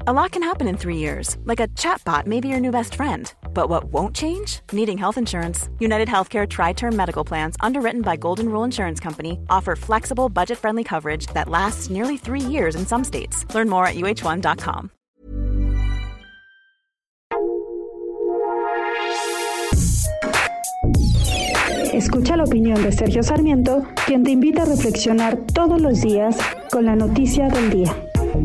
A lot can happen in 3 years, like a chatbot may be your new best friend. But what won't change? Needing health insurance. United Healthcare Tri-Term Medical Plans, underwritten by Golden Rule Insurance Company, offer flexible, budget-friendly coverage that lasts nearly 3 years in some states. Learn more at uh1.com. Escucha la opinión de Sergio Sarmiento, quien te invita a reflexionar todos los días con la noticia del día.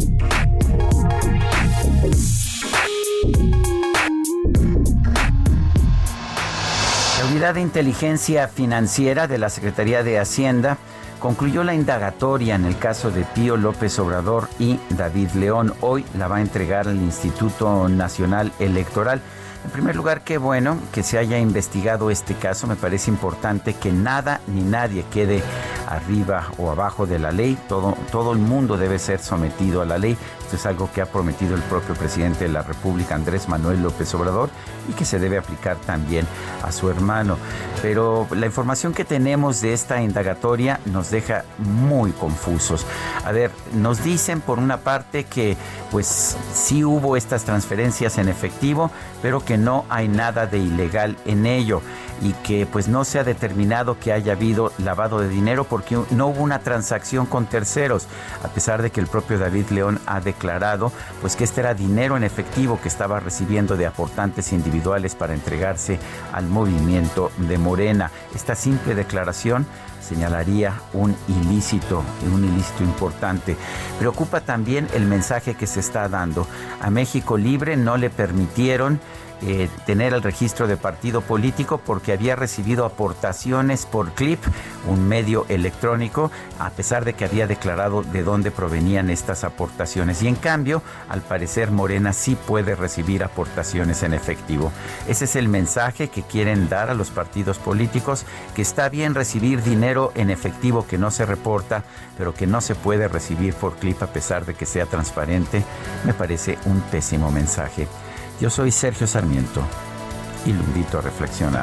La Unidad de Inteligencia Financiera de la Secretaría de Hacienda concluyó la indagatoria en el caso de Pío López Obrador y David León. Hoy la va a entregar al Instituto Nacional Electoral. En primer lugar, qué bueno que se haya investigado este caso. Me parece importante que nada ni nadie quede arriba o abajo de la ley. Todo el mundo debe ser sometido a la ley. Esto es algo que ha prometido el propio presidente de la República, Andrés Manuel López Obrador, y que se debe aplicar también a su hermano. Pero la información que tenemos de esta indagatoria nos deja muy confusos. A ver, nos dicen por una parte que pues sí hubo estas transferencias en efectivo, pero que no hay nada de ilegal en ello y que pues no se ha determinado que haya habido lavado de dinero porque no hubo una transacción con terceros, a pesar de que el propio David León ha declarado pues que este era dinero en efectivo que estaba recibiendo de aportantes individuales para entregarse al movimiento de Morena. Esta simple declaración señalaría un ilícito importante. Preocupa también el mensaje que se está dando. A México Libre no le permitieron tener el registro de partido político porque había recibido aportaciones por Clip, un medio electrónico, a pesar de que había declarado de dónde provenían estas aportaciones. Y en cambio, al parecer, Morena sí puede recibir aportaciones en efectivo. Ese es el mensaje que quieren dar a los partidos políticos, que está bien recibir dinero en efectivo que no se reporta, pero que no se puede recibir por Clip a pesar de que sea transparente. Me parece un pésimo mensaje. Yo soy Sergio Sarmiento y lo invito a reflexionar.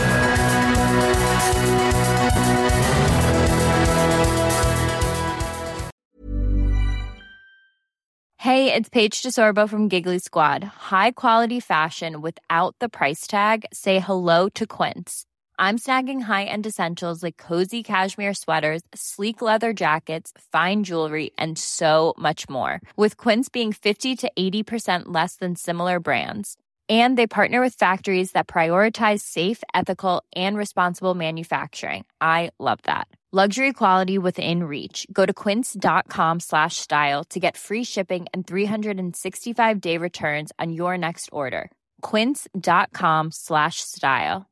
Hey, it's Paige DeSorbo from Giggly Squad. High quality fashion without the price tag. Say hello to Quince. I'm snagging high-end essentials like cozy cashmere sweaters, sleek leather jackets, fine jewelry, and so much more. With Quince being 50 to 80% less than similar brands. And they partner with factories that prioritize safe, ethical, and responsible manufacturing. I love that. Luxury quality within reach. Go to quince.com/style to get free shipping and 365-day returns on your next order. Quince.com/style.